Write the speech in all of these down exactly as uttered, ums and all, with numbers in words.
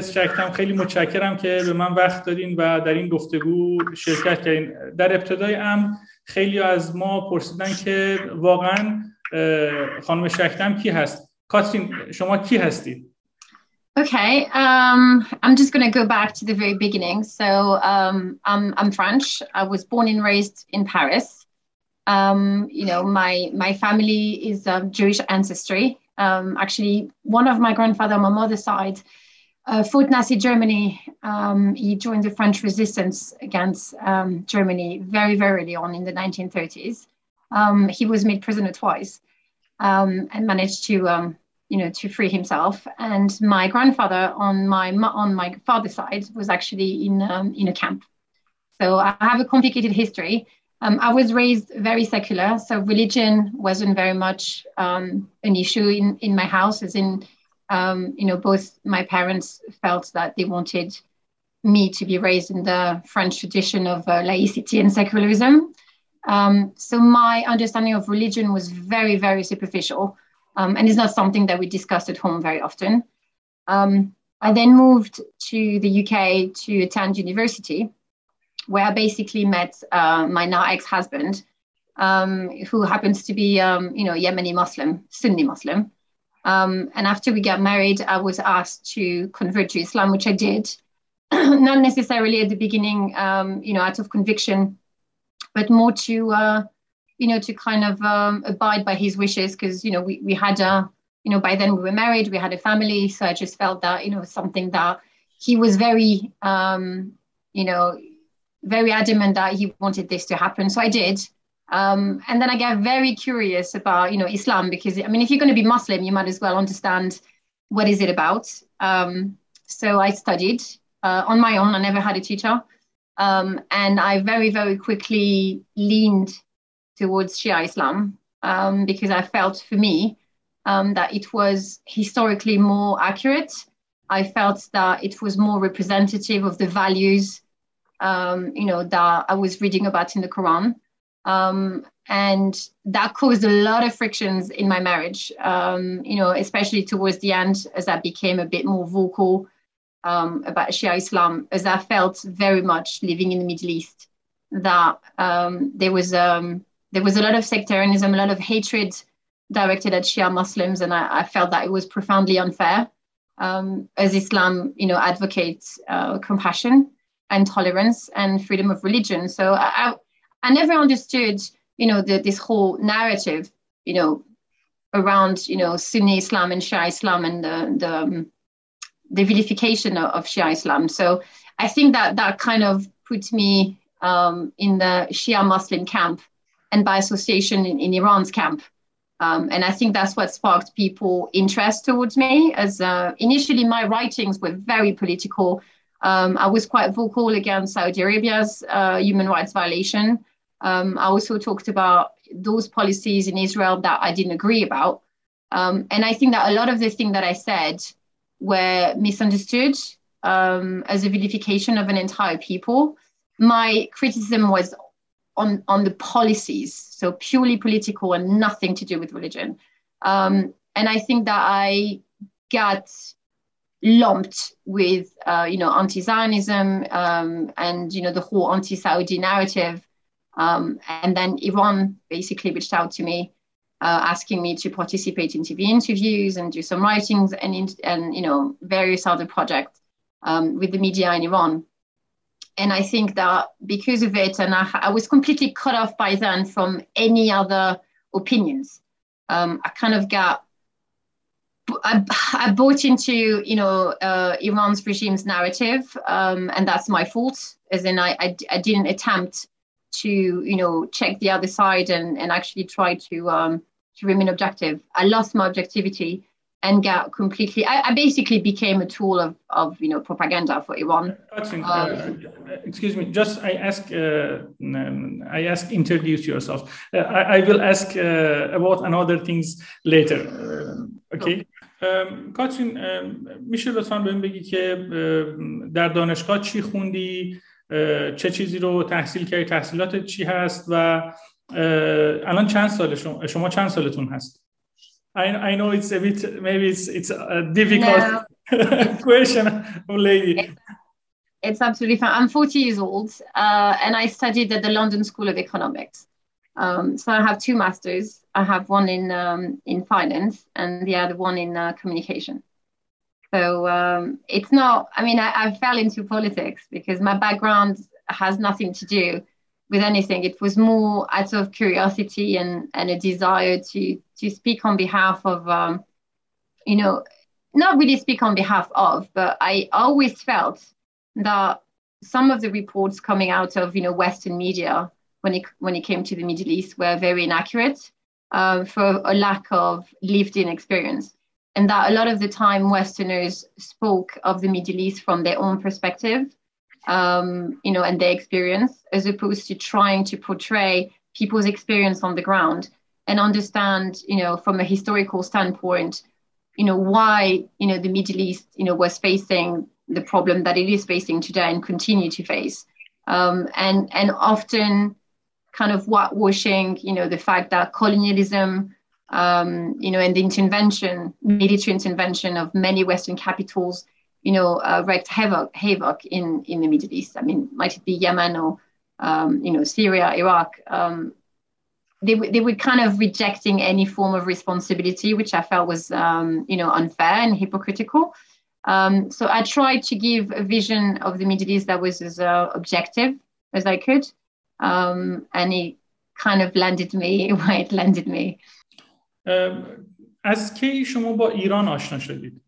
میس شکدم، خیلی متشکرم که به من وقت دادین و در این گفتگو شرکت کردین. در ابتدای امر خیلی از ما پرسیدن که واقعا خانم شکدم کی هست؟ کاترین شما کی هستید؟ Okay, um, I'm just going to go back to the very beginning. So um, I'm, I'm French. I was born and raised in Paris. Um, you know, my, my family is of Jewish ancestry. Um, actually, one of my grandfather on my mother's side uh, fought Nazi Germany. Um, he joined the French resistance against um, Germany very, very early on in the nineteen thirties. Um, he was made prisoner twice um, and managed to... Um, you know, to free himself. And my grandfather on my on my father's side was actually in um, in a camp. So I have a complicated history. Um, I was raised very secular, so religion wasn't very much um, an issue in, in my house, as in, um, you know, both my parents felt that they wanted me to be raised in the French tradition of uh, laicity and secularism. Um, so my understanding of religion was very, very superficial. Um, and it's not something that we discussed at home very often. Um, I then moved to the U K to attend university, where I basically met uh, my now ex-husband, um, who happens to be, um, you know, Yemeni Muslim, Sunni Muslim. Um, and after we got married, I was asked to convert to Islam, which I did, not necessarily at the beginning, um, you know, out of conviction, but more to... Uh, you know, to kind of um, abide by his wishes, because, you know, we, we had a, you know, by then we were married, we had a family. So I just felt that, you know, something that he was very, um, you know, very adamant that he wanted this to happen. So I did. Um, and then I got very curious about, you know, Islam, because, I mean, if you're going to be Muslim, you might as well understand what is it about. Um, so I studied uh, on my own. I never had a teacher. Um, and I very, very quickly leaned towards Shia Islam, um, because I felt for me um, that it was historically more accurate. I felt that it was more representative of the values, um, you know, that I was reading about in the Quran. Um, and that caused a lot of frictions in my marriage, um, you know, especially towards the end, as I became a bit more vocal um, about Shia Islam, as I felt very much living in the Middle East, that um, there was... Um, There was a lot of sectarianism, a lot of hatred directed at Shia Muslims, and I, I felt that it was profoundly unfair, um, as Islam, you know, advocates uh, compassion and tolerance and freedom of religion. So I, I, I never understood, you know, the, this whole narrative, you know, around, you know, Sunni Islam and Shia Islam and the the, um, the vilification of, of Shia Islam. So I think that that kind of put me um, in the Shia Muslim camp, and by association in, in Iran's camp. Um, and I think that's what sparked people interest towards me, as uh, initially my writings were very political. Um, I was quite vocal against Saudi Arabia's uh, human rights violation. Um, I also talked about those policies in Israel that I didn't agree about. Um, and I think that a lot of the things that I said were misunderstood um, as a vilification of an entire people. My criticism was on, on the policies, so purely political and nothing to do with religion. Um, and I think that I got lumped with, uh, you know, anti-Zionism um, and, you know, the whole anti-Saudi narrative. Um, and then Iran basically reached out to me, uh, asking me to participate in T V interviews and do some writings and, in, and you know, various other projects um, with the media in Iran. And I think that because of it, and I, I was completely cut off by then from any other opinions. Um, I kind of got, I, I bought into, you know, uh, Iran's regime's narrative, um, and that's my fault. As in, I, I, I didn't attempt to, you know, check the other side and, and actually try to um, to remain objective. I lost my objectivity and got completely, I, I basically became a tool of, of, you know, propaganda for Iran. Katrin, um, uh, excuse me, just I ask, uh, I ask introduce yourself. Uh, I, I will ask uh, about another things later. Uh, okay. کاترین میشه لطفاً بهم بگی که در دانشگاه چی خوندی، چه چیزی رو تحصیل کردی، تحصیلاتت چی هست و الان چند سال شما, شما چند سالتون هست؟ I, I know it's a bit, maybe it's, it's uh, difficult. No, Question, lady. It's, it's absolutely fine. I'm forty years old, uh, and I studied at the London School of Economics. Um, so I have two masters. I have one in um, in finance and the other one in uh, communication. So um, it's not, I mean, I, I fell into politics because my background has nothing to do with anything. It was more out of curiosity and, and a desire to, to speak on behalf of, um, you know, not really speak on behalf of, but I always felt that some of the reports coming out of, you know, Western media when it, when it came to the Middle East were very inaccurate uh, for a lack of lived-in experience. And that a lot of the time Westerners spoke of the Middle East from their own perspective, um, you know, and their experience, as opposed to trying to portray people's experience on the ground and understand, you know, from a historical standpoint, you know, why, you know, the Middle East, you know, was facing the problem that it is facing today and continue to face. Um, and, and often kind of whitewashing, you know, the fact that colonialism, Um, you know, and the intervention, military intervention of many Western capitals, you know, uh, wreaked havoc, havoc in, in the Middle East. I mean, might it be Yemen or, um, you know, Syria, Iraq? Um, they, they were kind of rejecting any form of responsibility, which I felt was, um, you know, unfair and hypocritical. Um, so I tried to give a vision of the Middle East that was as uh, objective as I could. Um, and it kind of landed me where it landed me. از کی شما با ایران آشنا شدید؟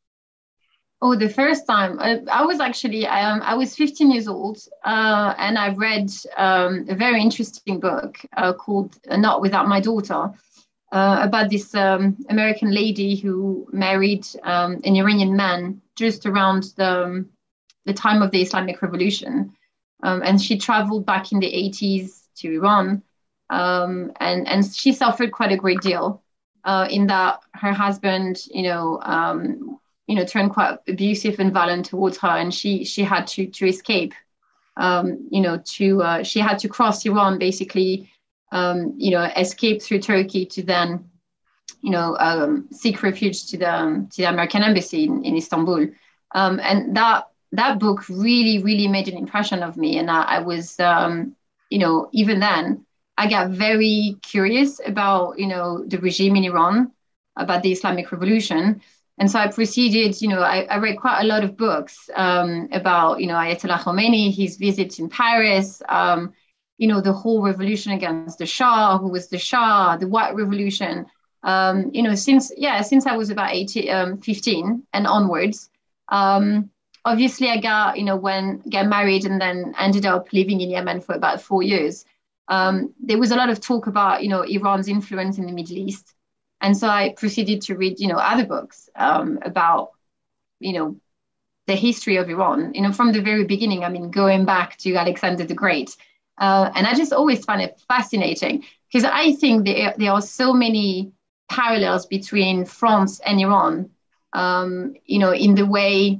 Oh, the first time I, I was actually um, I was fifteen years old, uh, and I read um, a very interesting book uh, called Not Without My Daughter, uh, about this um, American lady who married um, an Iranian man just around the the time of the Islamic Revolution, um, and she traveled back in the eighties to Iran, um, and and she suffered quite a great deal. Uh, in that her husband, you know, um, you know, turned quite abusive and violent towards her, and she she had to to escape. Um, you know, to uh, she had to cross Iran, basically, um, you know, escape through Turkey to then, you know, um, seek refuge to the to the American embassy in, in Istanbul. Um, and that that book really really made an impression of me, and I, I was, um, you know, even then. I got very curious about, you know, the regime in Iran, about the Islamic Revolution. And so I proceeded, you know, I, I read quite a lot of books um, about, you know, Ayatollah Khomeini, his visits in Paris, um, you know, the whole revolution against the Shah, who was the Shah, the White Revolution. Um, you know, since, yeah, since I was about eighteen, um, fifteen and onwards. Um, obviously, I got, you know, when got married and then ended up living in Yemen for about four years. Um, there was a lot of talk about, you know, Iran's influence in the Middle East. And so I proceeded to read, you know, other books um, about, you know, the history of Iran, you know, from the very beginning. I mean, going back to Alexander the Great. Uh, and I just always find it fascinating because I think there, there are so many parallels between France and Iran, um, you know, in the way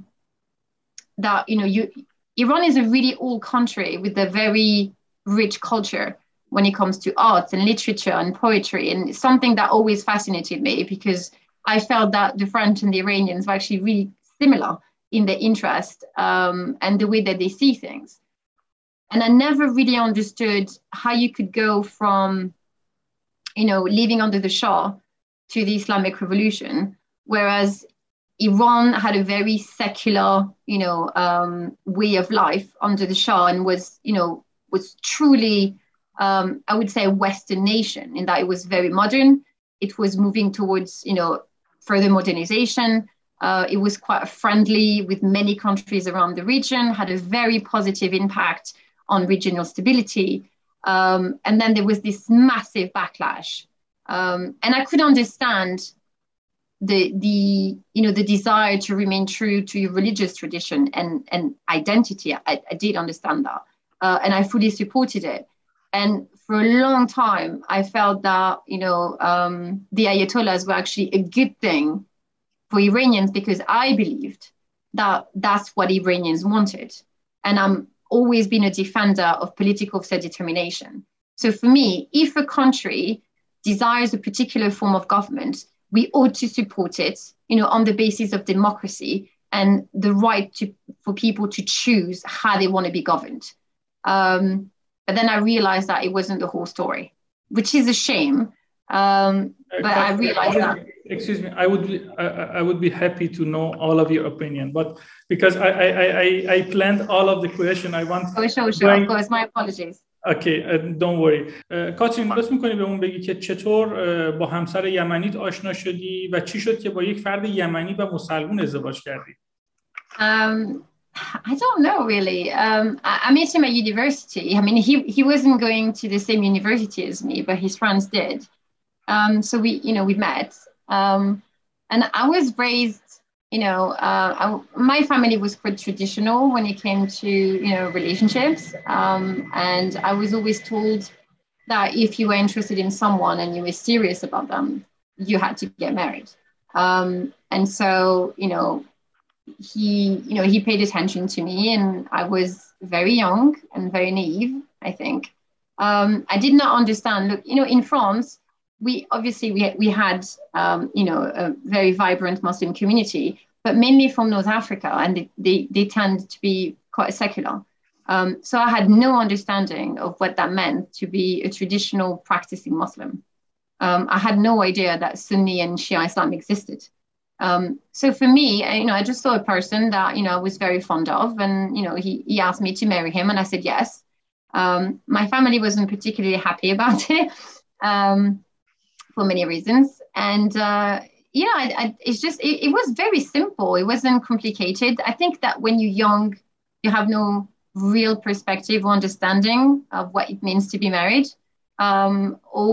that, you know, you Iran is a really old country with a very rich culture when it comes to arts and literature and poetry, and it's something that always fascinated me because I felt that the French and the Iranians were actually really similar in their interest um, and the way that they see things. And I never really understood how you could go from, you know, living under the Shah to the Islamic Revolution, whereas Iran had a very secular, you know, um, way of life under the Shah and was, you know, was truly, um, I would say, a Western nation in that it was very modern. It was moving towards, you know, further modernization. Uh, it was quite friendly with many countries around the region, had a very positive impact on regional stability. Um, and then there was this massive backlash. Um, and I could understand the, the, you know, the desire to remain true to your religious tradition and, and identity. I, I did understand that. Uh, and I fully supported it. And for a long time, I felt that, you know, um, the Ayatollahs were actually a good thing for Iranians because I believed that that's what Iranians wanted. And I'm always been a defender of political self-determination. So for me, if a country desires a particular form of government, we ought to support it, you know, on the basis of democracy and the right to for people to choose how they want to be governed. Um, but then I realized that it wasn't the whole story, which is a shame. Um, but uh, I realized that. Excuse me, I would I, I would be happy to know all of your opinion, but because I I I, I planned all of the question, I want. Oh, sure, sure. Going... Of course, my apologies. Okay, uh, don't worry. Uh, کاترین لطف می‌کنی به اون بگی که چطور uh, با همسر یمنیت آشنا شدی و چی شد که با یک فرد یمنی و مسلمون ازدواج کردی؟ Um, I don't know really. Um, I, I met him at university. I mean, he he wasn't going to the same university as me, but his friends did. Um, so we, you know, we met. Um, and I was raised, you know, uh, I, my family was quite traditional when it came to, you know, relationships. Um, and I was always told that if you were interested in someone and you were serious about them, you had to get married. Um, and so, you know, he, you know, he paid attention to me, and I was very young and very naive, I think. Um, I did not understand. Look, you know, in France, we obviously we we had um, you know, a very vibrant Muslim community, but mainly from North Africa, and they they, they tend to be quite secular. Um, so I had no understanding of what that meant to be a traditional practicing Muslim. Um, I had no idea that Sunni and Shia Islam existed. Um, so for me, I, you know, I just saw a person that, you know, I was very fond of, and you know, he he asked me to marry him, and I said yes. Um, my family wasn't particularly happy about it. Um, for many reasons. And, uh, yeah, I, I, it's just, it, it was very simple. It wasn't complicated. I think that when you're young, you have no real perspective or understanding of what it means to be married, um, or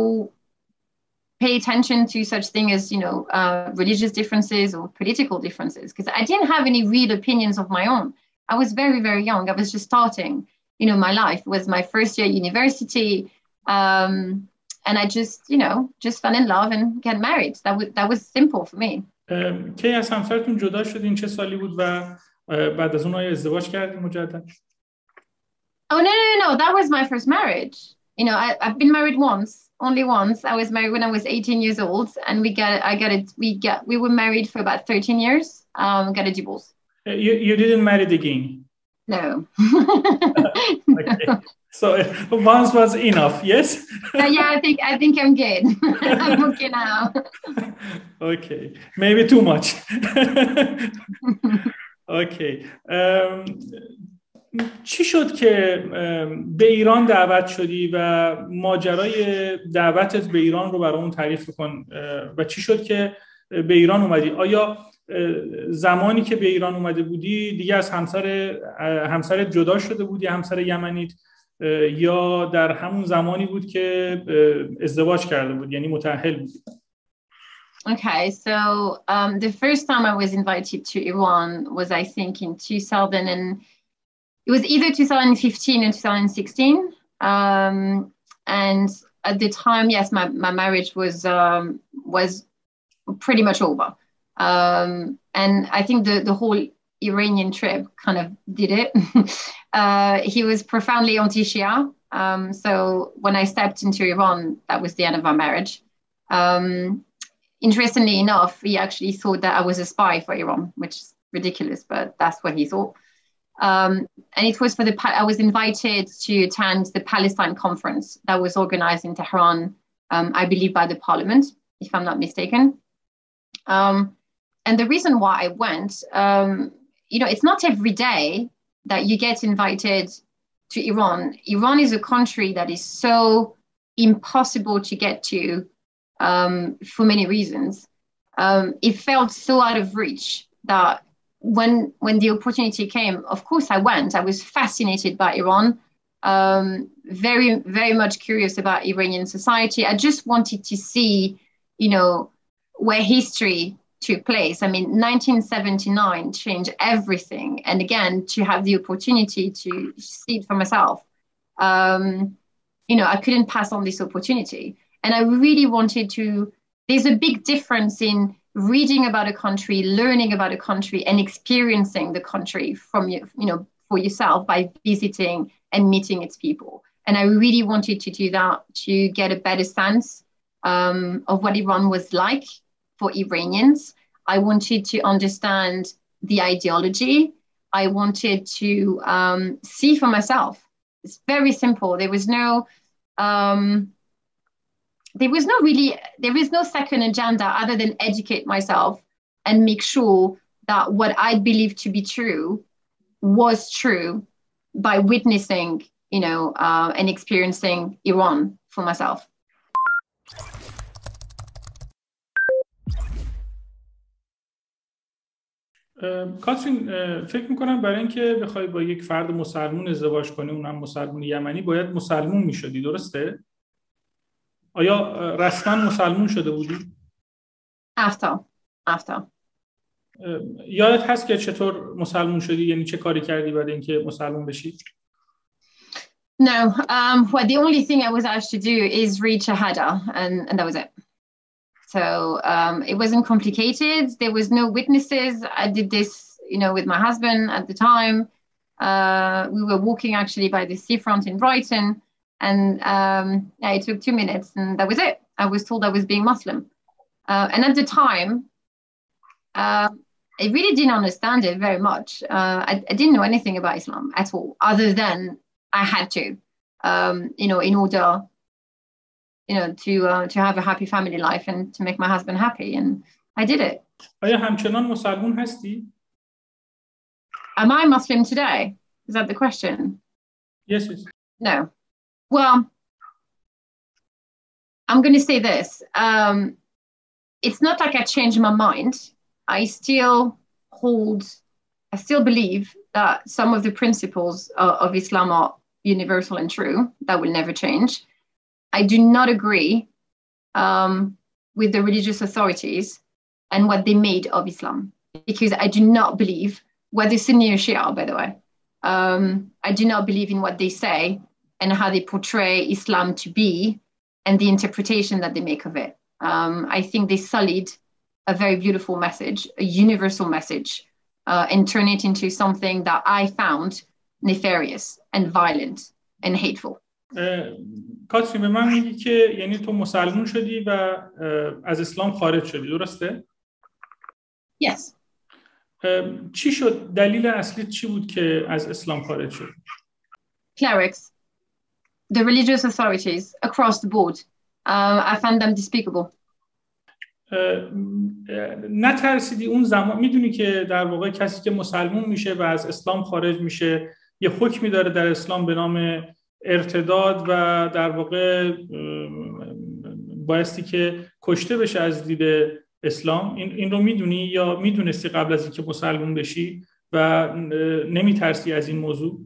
pay attention to such thing as, you know, uh, religious differences or political differences. Because I didn't have any real opinions of my own. I was very, very young. I was just starting, you know, my life. It was my first year at university. Um, And I just, you know, just fell in love and get married. That was that was simple for me. کی از همسرتون جدا شدین؟ چه سالی بود و بعد از اون آیا ازدواج کردین مجدد؟ Oh no no no! That was my first marriage. You know, I, I've been married once, only once. I was married when I was eighteen years old, and we got I got it. We got we were married for about thirteen years. Um, got a divorce. You you didn't marry again? No. Okay. So once was enough, yes? uh, yeah, I think I think I'm good. I'm okay now. Okay, maybe too much. Okay. Um, چی شد که به ایران دعوت شدی و ماجرای دعوتت به ایران رو برامون تعریف کن و چی شد که به ایران اومدی؟ آیا زمانی که به ایران اومده بودی دیگه از همسر همسرت جدا شده بودی، همسر یمنیت، یا در همون زمانی بود که ازدواج کرده بود، یعنی متأهل بود؟ Okay, so um, the first time I was invited to Iran was, I think, in two thousand, and it was either two thousand fifteen and two thousand sixteen. Um, and at the time, yes, my, my marriage was um, was pretty much over. Um, and I think the, the whole Iranian trip kind of did it. uh, he was profoundly anti-Shia. Um, so when I stepped into Iran, that was the end of our marriage. Um, interestingly enough, he actually thought that I was a spy for Iran, which is ridiculous, but that's what he thought. Um, and it was for the, I was invited to attend the Palestine conference that was organized in Tehran, um, I believe by the parliament, if I'm not mistaken. Um, and the reason why I went, um, you know, it's not every day that you get invited to Iran. Iran is a country that is so impossible to get to um, for many reasons. Um, it felt so out of reach that when when the opportunity came, of course I went. I was fascinated by Iran, um, very, very much curious about Iranian society. I just wanted to see, you know, where history took place. I mean, nineteen seventy-nine changed everything. And again, to have the opportunity to see it for myself, um, you know, I couldn't pass on this opportunity. And I really wanted to, there's a big difference in reading about a country, learning about a country, and experiencing the country from, you you know, for yourself by visiting and meeting its people. And I really wanted to do that to get a better sense um, of what Iran was like for Iranians. I wanted to understand the ideology. I wanted to um, see for myself. It's very simple. There was no, um, there was no really, there is no second agenda other than educate myself and make sure that what I believed to be true was true by witnessing, you know, uh, and experiencing Iran for myself. کاترین، فکر میکنم برای اینکه بخوای با یک فرد مسلمون ازدواج کنی، اونم مسلمون یمنی، باید مسلمون میشدی، درسته؟ آیا رسما مسلمون شده بودی؟ After. After. یادت هست که چطور مسلمون شدی؟ یعنی چه کاری کردی برای اینکه مسلمون بشی؟ No, um, well, the only thing I was asked to do is read Shahada, and, and that was it. So um, it wasn't complicated. There was no witnesses. I did this, you know, with my husband at the time. Uh, we were walking actually by the seafront in Brighton, and um, yeah, it took two minutes, and that was it. I was told I was being Muslim. Uh, and at the time, uh, I really didn't understand it very much. Uh, I, I didn't know anything about Islam at all, other than I had to, um, you know, in order, you know, to uh, to have a happy family life and to make my husband happy, and I did it. آیا همچنان مسلمون هستی؟ Am I Muslim today? Is that the question? Yes, yes. No. Well, I'm going to say this. Um, it's not like I changed my mind. I still hold, I still believe that some of the principles of, of Islam are universal and true. That will never change. I do not agree um, with the religious authorities and what they made of Islam, because I do not believe, whether Sunni or Shia, by the way, um, I do not believe in what they say and how they portray Islam to be and the interpretation that they make of it. Um, I think they sullied a very beautiful message, a universal message, uh, and turn it into something that I found nefarious and violent and hateful. کاترین، به من میگی که یعنی تو مسلمون شدی و از اسلام خارج شدی، درسته؟ Yes. چی شد؟ دلیل اصلی چی بود که از اسلام خارج شد؟ Clerics, the religious authorities across the board. Uh, I found them despicable. نترسیدی اون زمان؟ میدونی که در واقع کسی که مسلمون میشه و از اسلام خارج میشه یه حکمی داره در اسلام به نام ارتداد و در واقع بایستی که کشته بشه از دید اسلام. این این رو میدونی یا میدونستی قبل از اینکه مسلمون بشی و نمیترسی از این موضوع؟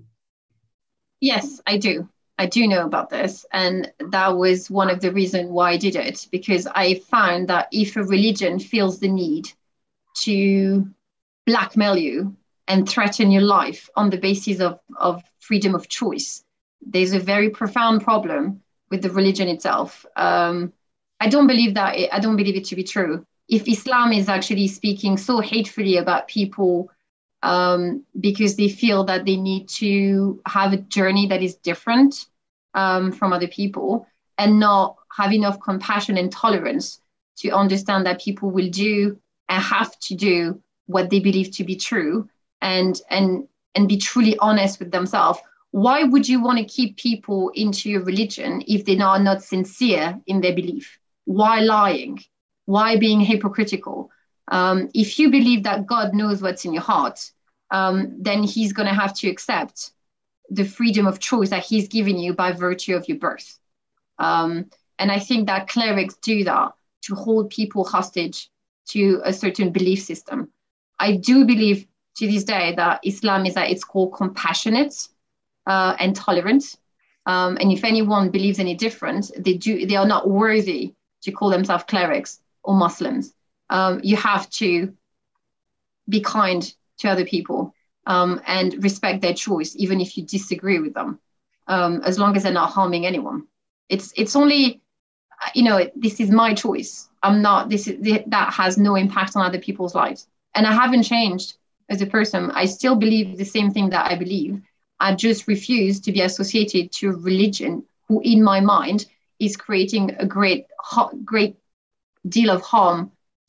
Yes, I do. I do know about this, and that was one of the reasons why I did it, because I found that if a religion feels the need to blackmail you and threaten your life on the basis of, of freedom of choice, there's a very profound problem with the religion itself. Um, I don't believe that. It, I don't believe it to be true. If Islam is actually speaking so hatefully about people um, because they feel that they need to have a journey that is different um, from other people and not have enough compassion and tolerance to understand that people will do and have to do what they believe to be true and, and, and be truly honest with themselves. Why would you want to keep people into your religion if they are not sincere in their belief? Why lying? Why being hypocritical? Um, if you believe that God knows what's in your heart, um, then he's going to have to accept the freedom of choice that he's given you by virtue of your birth. Um, and I think that clerics do that to hold people hostage to a certain belief system. I do believe to this day that Islam is at its core compassionate uh, and tolerant. Um, and if anyone believes any different, they do they are not worthy to call themselves clerics or Muslims. Um, you have to be kind to other people um, and respect their choice, even if you disagree with them, um, as long as they're not harming anyone. It's it's only, you know, this is my choice. I'm not, this is, that has no impact on other people's lives. And I haven't changed as a person. I still believe the same thing that I believe. I just refuse to be associated to a religion who, in my mind, is creating a great, great deal of harm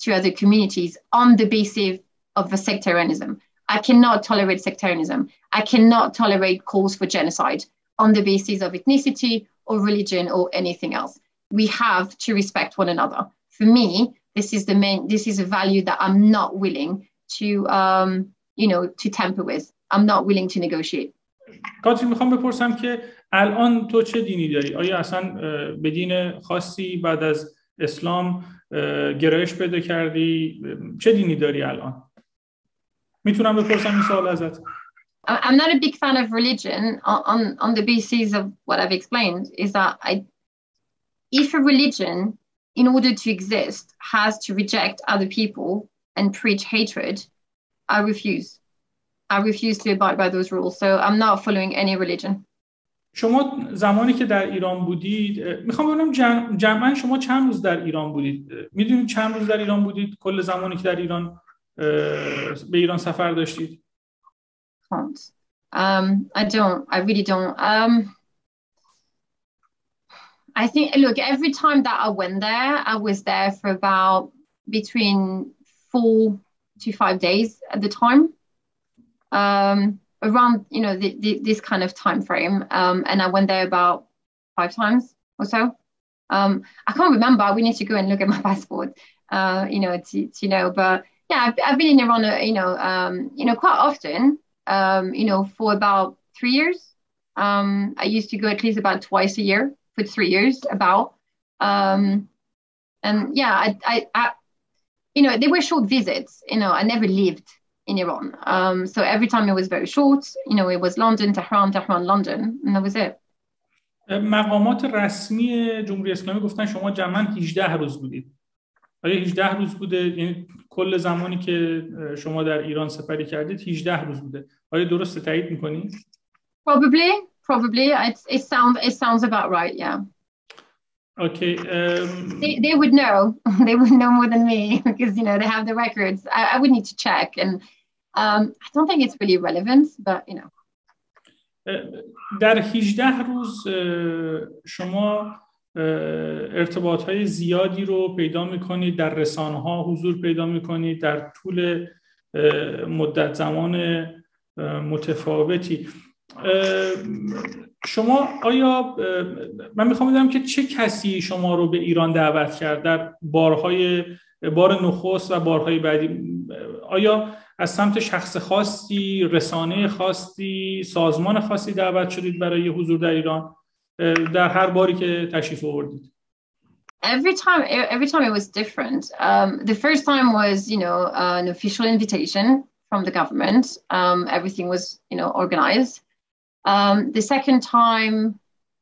to other communities on the basis of the sectarianism. I cannot tolerate sectarianism. I cannot tolerate calls for genocide on the basis of ethnicity or religion or anything else. We have to respect one another. For me, this is the main, this is a value that I'm not willing to, um, you know, to tamper with. I'm not willing to negotiate. کاترین میخوام بپرسم که الان تو چه دینی داری؟ آیا اصلا به دین خاصی بعد از اسلام گرایش پیدا کردی؟ چه دینی داری الان؟ میتونم بپرسم این سوال ازت؟ I'm not a big fan of religion on, on the basis of what I've explained, is that I, if a religion, in order to exist, has to reject other people and preach hatred, I refuse. I refuse to abide by those rules. So I'm not following any religion. شما زمانی که در ایران بودید، میخوام ببینم جمع جمعاً شما چند روز در ایران بودید؟ میدونید چند روز در ایران بودید کل زمانی که در ایران به ایران سفر داشتید؟ Um, I don't. I really don't. Um, I think, look, every time that I went there, I was there for about between four to five days at the time. Um, around, you know, the, the, this kind of time frame. Um, and I went there about five times or so. Um, I can't remember. We need to go and look at my passport, uh, you know, to, to know. But yeah, I've, I've been in Iran, uh, you know, um, you know, quite often, um, you know, for about three years. Um, I used to go at least about twice a year for three years, about. Um, and yeah, I, I, I, you know, they were short visits. You know, I never lived in Iran. Um, so every time it was very short, you know, it was London, Tehran, Tehran, London, and that was it. مقامات رسمی جمهوری اسلامی گفتن شما جمعاً هجده روز بودید. آیا هجده روز بوده؟ یعنی کل زمانی که شما در ایران سپری کردید هجده روز بوده. آیا درسته؟ تایید می‌کنی؟ Probably, probably. It, it sounds it sounds about right, yeah. Okay. Um, they, they would know. They would know more than me because, you know, they have the records. I, I would need to check. And um, I don't think it's really relevant, but, you know. در هجده روز شما ارتباطهای زیادی رو پیدا میکنید، در رسانه‌ها حضور پیدا میکنید در طول مدت زمان متفاوتی. شما آیا من میخوام بدونم که چه کسی شما رو به ایران دعوت کرد در بارهای بار نخست و بارهای بعدی؟ آیا از سمت شخص خاصی، رسانه خاصی، سازمان خاصی دعوت شدید برای حضور در ایران در هر باری که تشریف آوردید؟ Every time, every time it was different. Um, the first time was, you know, uh, an official invitation from the government. Um, everything was, you know, organized. Um, the second time,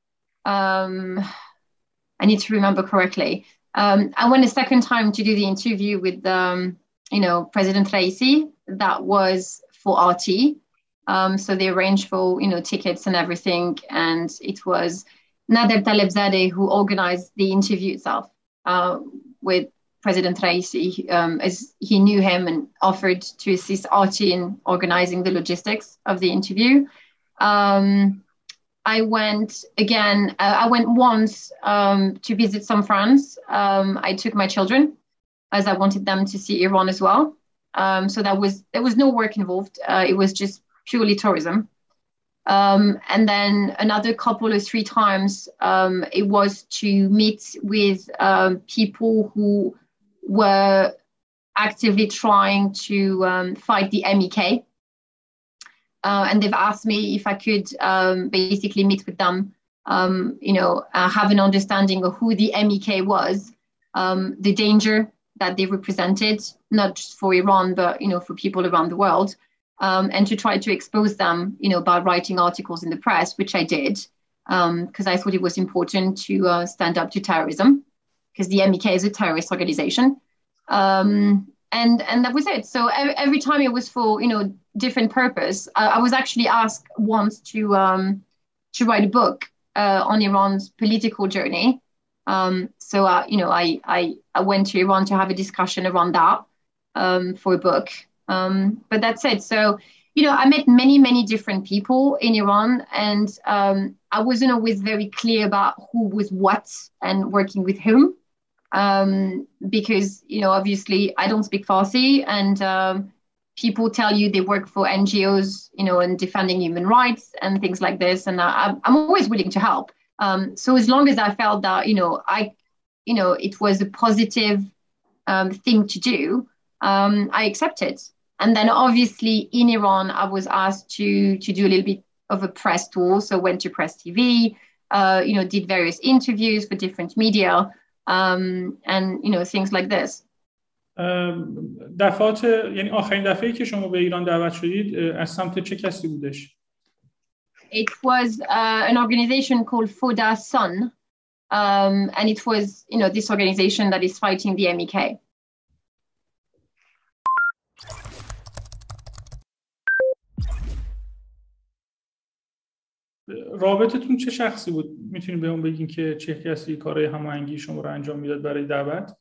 um, I need to remember correctly. Um, I went a second time to do the interview with, um, you know, President Raisi. That was for R T. Um, so they arranged for, you know, tickets and everything. And it was Nader Talebzadeh who organized the interview itself uh, with President Raisi, um, as he knew him and offered to assist R T in organizing the logistics of the interview. Um, I went again, uh, I went once um, to visit some friends. Um, I took my children as I wanted them to see Iran as well. Um, so that was, there was no work involved. Uh, it was just purely tourism. Um, and then another couple or three times, um, it was to meet with um, people who were actively trying to um, fight the M E K. Uh, and they've asked me if I could um, basically meet with them, um, you know, uh, have an understanding of who the M E K was, um, the danger that they represented, not just for Iran, but, you know, for people around the world, um, and to try to expose them, you know, by writing articles in the press, which I did, because um, I thought it was important to uh, stand up to terrorism, because the M E K is a terrorist organization. Um, and and that was it. So every, every time it was for, you know, different purpose. Uh, I was actually asked once to um, to write a book uh, on Iran's political journey. Um, so, uh, you know, I, I, I went to Iran to have a discussion around that um, for a book. Um, but that's it. So, you know, I met many, many different people in Iran, and um, I wasn't always very clear about who was what and working with whom. um, because, you know, obviously I don't speak Farsi, and um, people tell you they work for N G Os, you know, and defending human rights and things like this. And I, I'm always willing to help. Um, so as long as I felt that, you know, I, you know, it was a positive um, thing to do, um, I accepted. And then obviously in Iran, I was asked to to do a little bit of a press tour. So went to Press T V, uh, you know, did various interviews for different media, um, and, you know, things like this. دفعات یعنی آخرین دفعه‌ای که شما به ایران دعوت شدید از سمت چه کسی بودش؟ It was uh, an organization called Foda Sun, um, and it was, you know, this organization that is fighting the M E K. رابطتون چه شخصی بود؟ میتونید بهمون بگین که چه کسی کارهای هماهنگی شما رو انجام میداد برای دعوت؟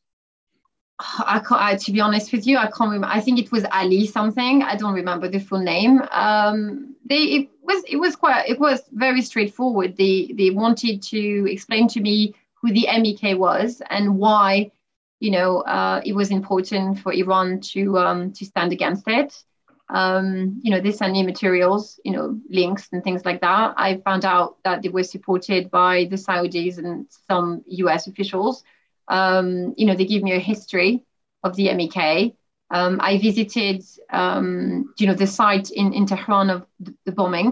I can't, I, to be honest with you, I can't remember. I think it was Ali something. I don't remember the full name. Um, they, it was, it was quite, it was very straightforward. They, they wanted to explain to me who the M E K was and why, you know, uh, it was important for Iran to, um, to stand against it. Um, you know, they sent me materials, you know, links and things like that. I found out that they were supported by the Saudis and some U S officials. Um, you know, they give me a history of the M E K. Um, I visited, um, you know, the site in, in Tehran of the, the bombing,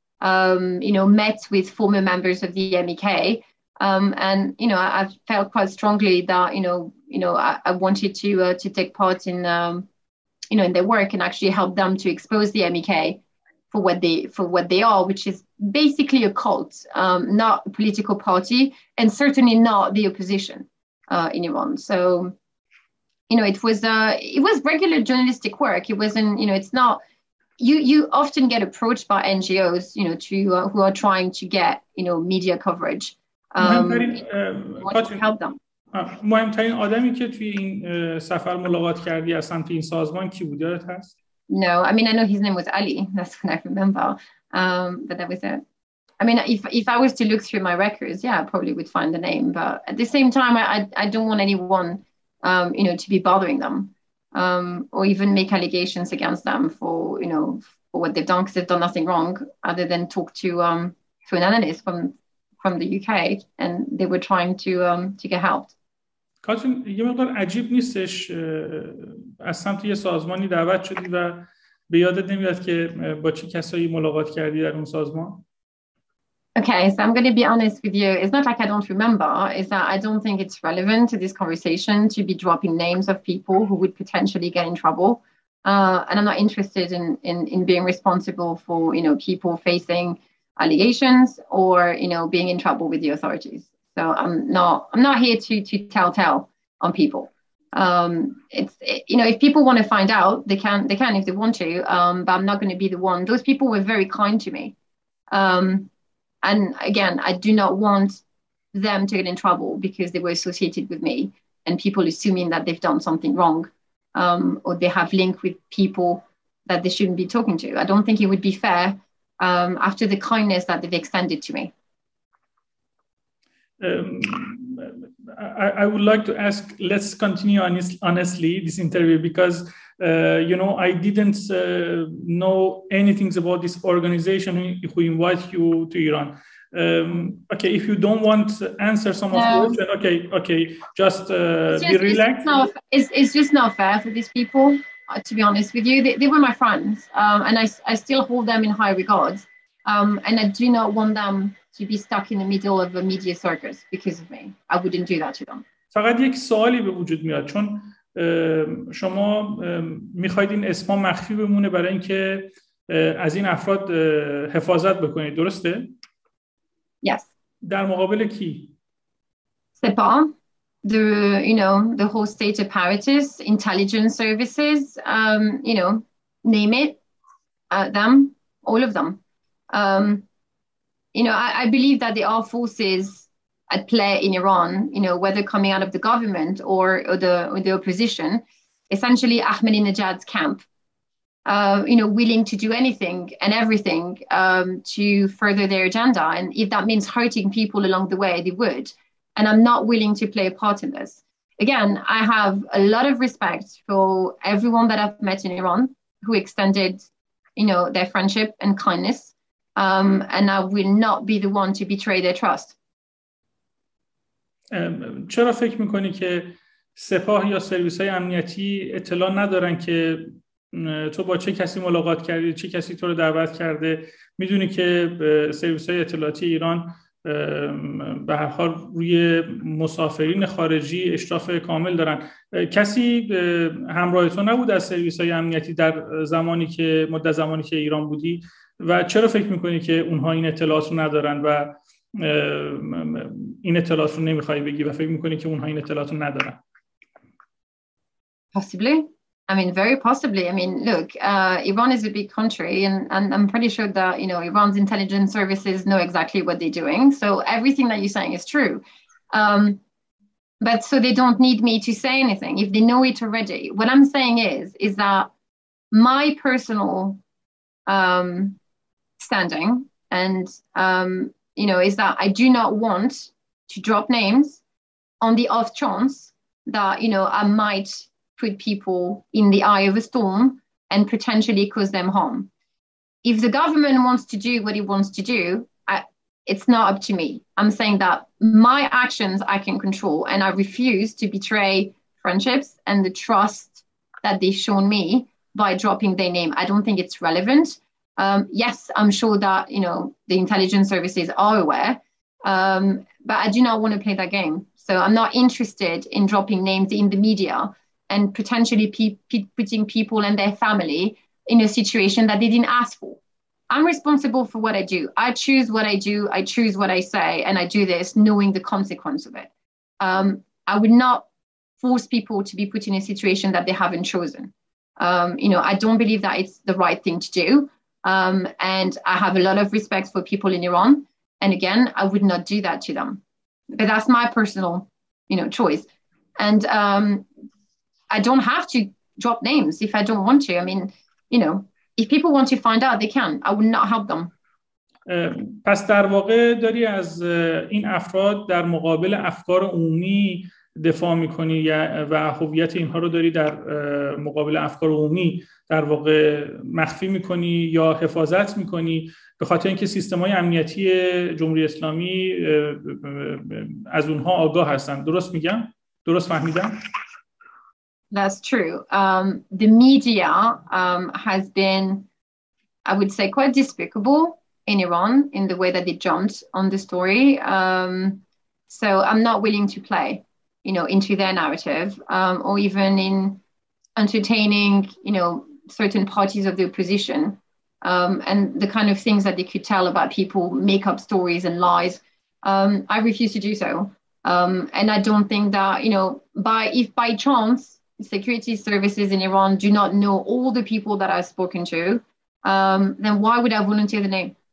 um, you know, met with former members of the M E K. Um, and, you know, I, I felt quite strongly that, you know, you know, I, I wanted to, uh, to take part in, um, you know, in their work and actually help them to expose the M E K for what they, for what they are, which is basically a cult, um, not a political party, and certainly not the opposition. Uh, in Iran. So, you know, it was uh, it was regular journalistic work. It wasn't, you know, it's not, you you often get approached by N G Os, you know, to uh, who are trying to get, you know, media coverage. Um, to help them. مهمترین آدمی که توی این سفر ملاقات کردی از سمت این سازمان کی بود یادت هست؟ No, I mean, I know his name was Ali. That's what I remember. Um, but that was it. I mean, if if I was to look through my records, yeah, I probably would find the name. But at the same time, I I, I don't want anyone, um, you know, to be bothering them, um, or even make allegations against them for, you know, for what they've done, because they've done nothing wrong other than talk to um to an analyst from from the U K, and they were trying to um to get help. کاترین، یه مقدار عجیب نیستش از سمت یه سازمانی دعوت شدی و به یادت نمیاد که با چه کسایی ملاقات کردی در اون سازمان؟ Okay, so I'm going to be honest with you. It's not like I don't remember. It's that I don't think it's relevant to this conversation to be dropping names of people who would potentially get in trouble. Uh, and I'm not interested in, in, in being responsible for, you know, people facing allegations or, you know, being in trouble with the authorities. So I'm not, I'm not here to, to tell tale on people. Um, it's, it, you know, if people want to find out, they can, they can if they want to, um, but I'm not going to be the one. Those people were very kind to me. Um, And again, I do not want them to get in trouble because they were associated with me and people assuming that they've done something wrong, um, or they have link with people that they shouldn't be talking to. I don't think it would be fair um, after the kindness that they've extended to me. Um, I, I would like to ask, let's continue honest, honestly this interview because, uh, you know, I didn't uh, know anything about this organization who, who invite you to Iran. Um, okay, if you don't want to answer some of the questions, okay, okay, just, uh, just be relaxed. It's, not, it's, it's just not fair for these people, uh, to be honest with you. They, they were my friends, um, and I, I still hold them in high regard. Um, and I do not want them to be stuck in the middle of a media circus because of me. I wouldn't do that to them. فقط یک سوالی به وجود میاد چون شما میخواید این اسما مخفی بمونه برای اینکه از این افراد حفاظت بکنید، درسته؟ Yes. در مقابل کی؟ Sepah, the, you know, the whole state apparatus, intelligence services, um, you know, name it, uh, them, all of them. Um, you know, I, I believe that there are forces at play in Iran, you know, whether coming out of the government or, or, the, or the opposition, essentially Ahmadinejad's camp, uh, you know, willing to do anything and everything um, to further their agenda. And if that means hurting people along the way, they would. And I'm not willing to play a part in this. again, I have a lot of respect for everyone that I've met in Iran who extended, you know, their friendship and kindness. Um, and I will not be the one to betray their trust. چرا فکر میکنی که سپاه یا سرویس‌های امنیتی اطلاع ندارن که تو با چه کسی ملاقات کردی، چه کسی تو رو دعوت کرده؟ میدونی که سرویس‌های اطلاعاتی ایران به هر حال روی مسافرین خارجی اشراف کامل دارن. کسی همراه تو نبود از سرویس‌های امنیتی در زمانی که مدت زمانی که ایران بودی و چرا فکر میکنی که اونها این اطلاعات رو ندارن و این اطلاعات رو نمیخوای بگی و فکر میکنی که اونها این اطلاعات رو ندارن؟ Possibly. I mean, very possibly. I mean, look, uh, Iran is a big country, and, and I'm pretty sure that, you know, Iran's intelligence services know exactly what they're doing. So everything that you're saying is true. Um, but so they don't need me to say anything if they know it already. What I'm saying is, is that my personal um, standing and, um, you know, is that I do not want to drop names on the off chance that, you know, I might put people in the eye of a storm and potentially cause them harm. If the government wants to do what it wants to do, I, it's not up to me. I'm saying that my actions I can control, and I refuse to betray friendships and the trust that they've shown me by dropping their name. I don't think it's relevant. Um, yes, I'm sure that, you know, the intelligence services are aware, um, but I do not want to play that game. So I'm not interested in dropping names in the media and potentially pe- pe- putting people and their family in a situation that they didn't ask for. I'm responsible for what I do. I choose what I do. I choose what I say, and I do this knowing the consequence of it. Um, I would not force people to be put in a situation that they haven't chosen. Um, you know, I don't believe that it's the right thing to do. Um, and I have a lot of respect for people in Iran. And again, I would not do that to them. But that's my personal, you know, choice. And um, I don't have to drop names if I don't want to. I mean, you know, if people want to find out, they can. I would not help them. پس در واقع داری از این افراد در مقابل افکار عمومی دفاع میکنی و هویت اینها رو داری در مقابل افکار عمومی در واقع مخفی میکنی یا حفاظت میکنی به خاطر اینکه سیستم‌های امنیتی جمهوری اسلامی از اونها آگاه هستن. درست میگم؟ درست فهمیدم؟ That's true. Um, the media um, has been, I would say, quite despicable in Iran in the way that they jumped on the story. Um, so I'm not willing to play, you know, into their narrative um, or even in entertaining, you know, certain parties of the opposition um, and the kind of things that they could tell about people, make up stories and lies. Um, I refuse to do so. Um, and I don't think that, you know, by if by chance, security services in Iran do not know all the people that I've spoken to, um, then why would I volunteer the name?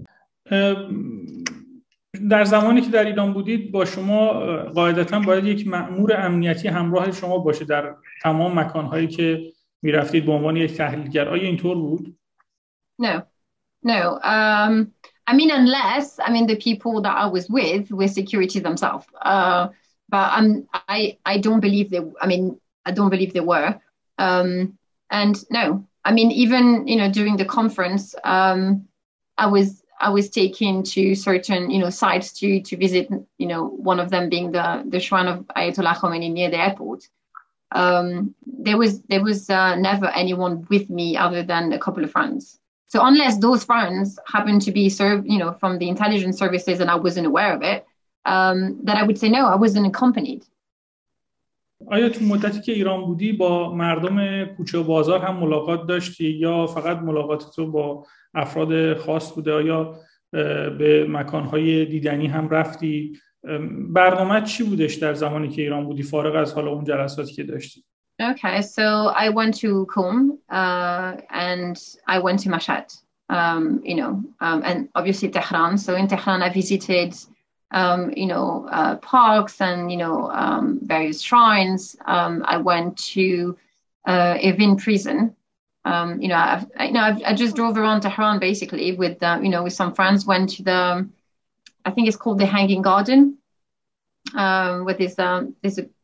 در زمانی که در ایران بودید با شما قاعدتاً باید یک مأمور امنیتی همراه شما باشه در تمام مکانهایی که میرفتید به عنوان یک تحلیلگر. آیا اینطور بود؟ No, no. Um, I mean, unless, I mean, the people that I was with were security themselves. Uh, but I'm, I, I don't believe they, I mean, I don't believe they were. Um, and no, I mean, even, you know, during the conference, um, I was, I was taken to certain, you know, sites to, to visit, you know, one of them being the, the shrine of Ayatollah Khomeini near the airport. Um, there was, there was uh, never anyone with me other than a couple of friends. So unless those friends happen to be served, you know, from the intelligence services and I wasn't aware of it, um, that I would say, no, I wasn't accompanied. آیا تو مدتی که ایران بودی با مردم کوچه و بازار هم ملاقات داشتی یا فقط ملاقات تو با افراد خاص بوده؟ آیا به مکانهای دیدنی هم رفتی؟ برنامه چی بودش در زمانی که ایران بودی فارغ از حالا اون جلساتی که داشتی؟ Okay, so I went to Qom uh, and I went to Mashhad, um, you know, um, and obviously Tehran. So in Tehran, I visited, um, you know, uh, parks and, you know, um, various shrines. Um, I went to uh, Evin prison. Um, you know, I've, I, you know, I've, I just drove around Tehran basically with, uh, you know, with some friends. Went to the, I think it's called the Hanging Garden, um, with this, um, there's a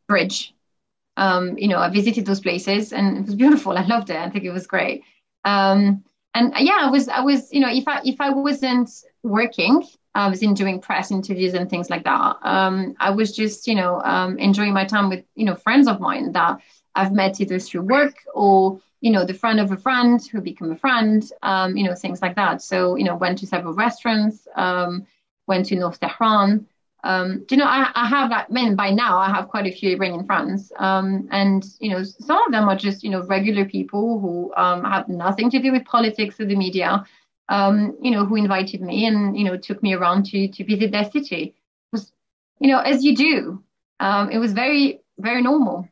Bridge. Um, you know, I visited those places and it was beautiful. I loved it. I think it was great. Um, and uh, yeah, I was, I was, you know, if I if I wasn't working, I was in doing press interviews and things like that. Um, I was just, you know, um, enjoying my time with, you know, friends of mine that I've met either through work or, you know, the friend of a friend who become a friend, um, you know, things like that. So, you know, went to several restaurants, um, went to North Tehran. Um, do you know, I, I have, I mean, by now I have quite a few Iranian friends. Um, and, you know, some of them are just, you know, regular people who um, have nothing to do with politics or the media, um, you know, who invited me and, you know, took me around to, to visit their city. It was, you know, as you do. Um, it was very, very normal.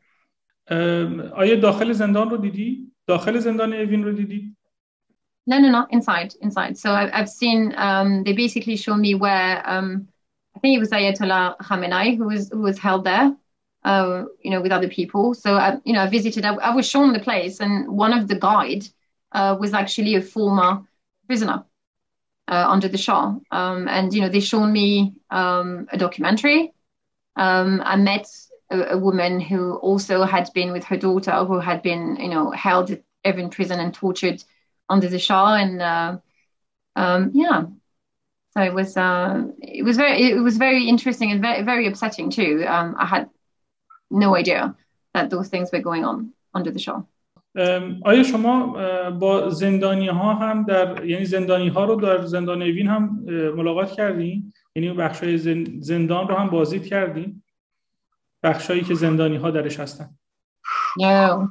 آیا داخل زندان رو دیدی؟ داخل زندان اوین رو دیدی؟ No, no, no, inside, inside. So I, I've seen, um, they basically show me where, um, I think it was Ayatollah Khamenei who was who was held there, uh, you know, with other people. So I, you know, I visited. I, I was shown the place, and one of the guide uh, was actually a former prisoner uh, under the Shah. Um, and you know, they shown me um, a documentary. Um, I met a, a woman who also had been with her daughter, who had been, you know, held at Evin prison and tortured under the Shah, and uh, um, yeah. So it was uh, it was very it was very interesting and very very upsetting too. Um, I had no idea that those things were going on under the Shah. آیا شما با زندانی ها هم در یعنی زندانی ها رو در زندان اوین هم ملاقات کردین؟ یعنی بخشای زندان رو هم بازدید کردین؟ بخشایی که زندانی ها درش هستن؟ No.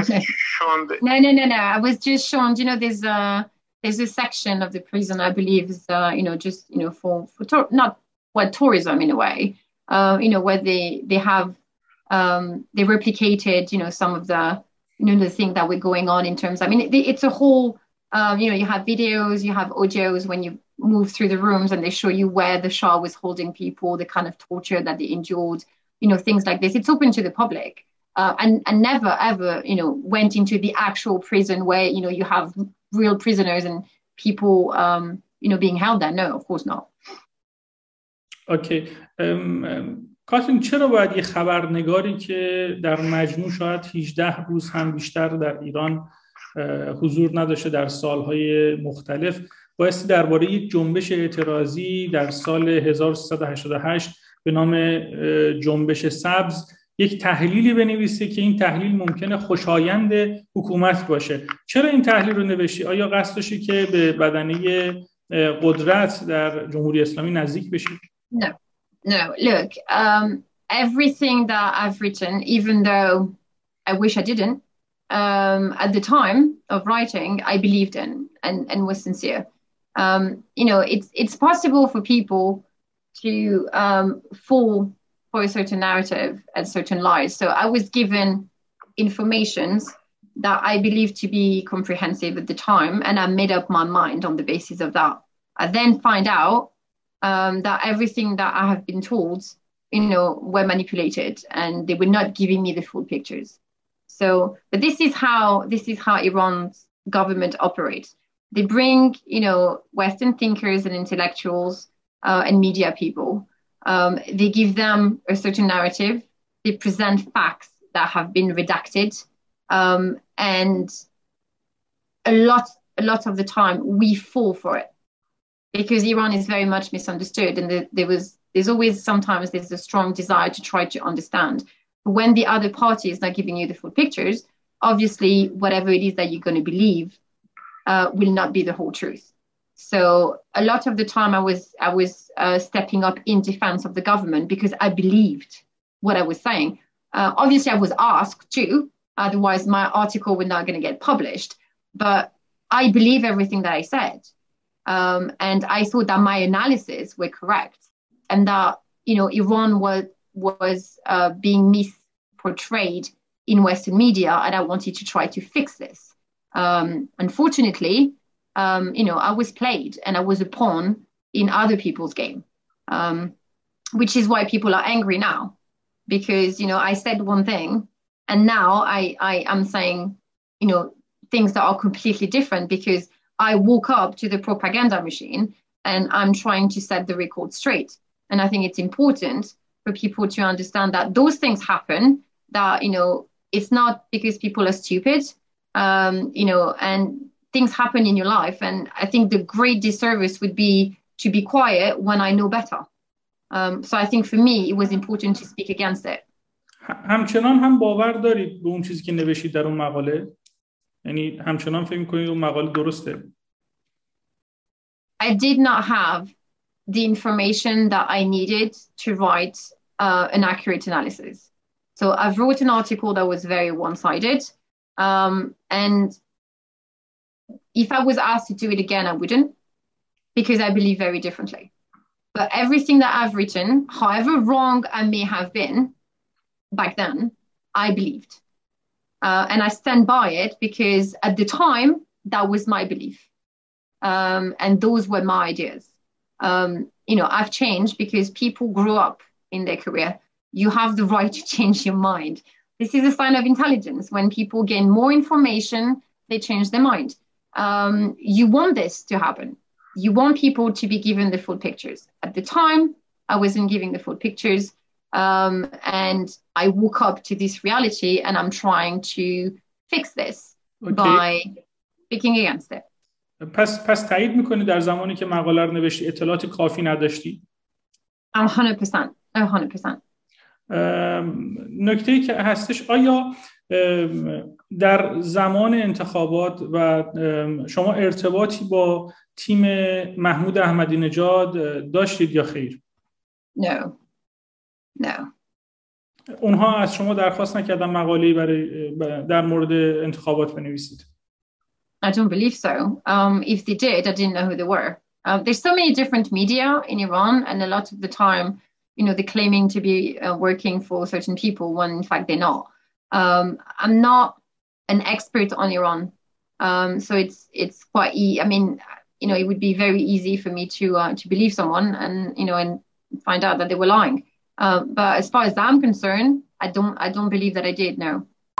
no, no, no, no. I was just shown, you know, there's a there's a section of the prison, I believe, is uh, you know, just you know, for for tour, not what tourism in a way, uh, you know, where they they have um, they replicated, you know, some of the you know the thing that were going on in terms. I mean, it, it's a whole, um, you know, you have videos, you have audios when you move through the rooms, and they show you where the Shah was holding people, the kind of torture that they endured, you know, things like this. It's open to the public. Uh, and, and never, ever, you know, went into the actual prison where, you know, you have real prisoners and people, um, you know, being held there. No, of course not. Okay. کاترین چرا باید یه خبرنگاری که در مجموع شاید هجده روز هم بیشتر در ایران حضور نداشته در سالهای مختلف بایستی درباره یک جنبش اعتراضی در سال هزار و سیصد و هشتاد و هشت به نام جنبش سبز یک تحلیلی بنویسه که این تحلیل ممکنه خوشایند حکومت باشه؟ چرا این تحلیل رو نوشتی؟ آیا قصد داشتی که به بدنه قدرت در جمهوری اسلامی نزدیک بشی؟ No, no. Look, um, everything that I've written, even though I wish I didn't, um, at the time of writing, I believed in and, and was sincere. Um, you know, it's it's possible for people to um, fall for a certain narrative and certain lies. So I was given informations that I believed to be comprehensive at the time, and I made up my mind on the basis of that. I then find out um, that everything that I have been told, you know, were manipulated, and they were not giving me the full pictures. So, but this is how this is how Iran's government operates. They bring, you know, Western thinkers and intellectuals uh, and media people. Um, they give them a certain narrative. They present facts that have been redacted, um, and a lot, a lot of the time we fall for it because Iran is very much misunderstood, and the, there was, there's always sometimes there's a strong desire to try to understand. But when the other party is not giving you the full pictures, obviously whatever it is that you're going to believe uh, will not be the whole truth. So a lot of the time I was I was uh, stepping up in defense of the government because I believed what I was saying. Uh, obviously, I was asked to, otherwise my article was not going to get published. But I believe everything that I said. Um, and I thought that my analysis were correct and that, you know, Iran was, was uh, being misportrayed in Western media, and I wanted to try to fix this. Um, unfortunately, um, you know, I was played and I was a pawn in other people's game, um, which is why people are angry now, because, you know, I said one thing and now I, I am saying, you know, things that are completely different because I woke up to the propaganda machine and I'm trying to set the record straight. And I think it's important for people to understand that those things happen, that, you know, it's not because people are stupid, um, you know, and things happen in your life. And I think the great disservice would be to be quiet when I know better. Um, so I think for me, it was important to speak against it. همچنان هم باور دارید به اون چیزی که نوشتید در اون مقاله؟ یعنی همچنان فکر می‌کنید اون مقاله درسته؟ I did not have the information that I needed to write uh, an accurate analysis. So I've wrote an article that was very one-sided. Um, and if I was asked to do it again, I wouldn't, because I believe very differently. But everything that I've written, however wrong I may have been back then, I believed. Uh, and I stand by it because at the time, that was my belief. Um, and those were my ideas. Um, you know, I've changed because people grew up in their career. You have the right to change your mind. This is a sign of intelligence. When people gain more information, they change their mind. Um, you want this to happen. You want people to be given the full pictures. At the time, I wasn't giving the full pictures. Um, and I woke up to this reality, and I'm trying to fix this okay. by speaking against it. پس پس تایید میکنی در زمانی که مقاله رو نوشتی اطلاعات کافی نداشتی؟ one hundred percent. one hundred percent. نکته‌ای که هستش، آیا در زمان انتخابات و شما ارتباطی با تیم محمود احمدی نژاد داشتید یا خیر؟ No. No. اونها از شما درخواست نکردن مقاله‌ای برای در مورد انتخابات بنویسید؟ I don't believe so. Um, if they did, I didn't know who they were. Uh, there's so many different media in Iran, and a lot of the time, you know, they're claiming to be uh, working for certain people when in fact they're not. Um, I'm not an expert on Iran, um, so it's it's quite. E- I mean, you know, it would be very easy for me to uh, to believe someone and you know and find out that they were lying. Uh, but as far as I'm concerned, I don't I don't believe that I did. No.